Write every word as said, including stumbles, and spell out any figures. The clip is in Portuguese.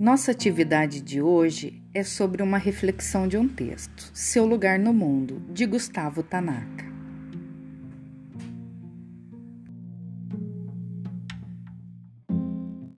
Nossa atividade de hoje é sobre uma reflexão de um texto, Seu Lugar no Mundo, de Gustavo Tanaka.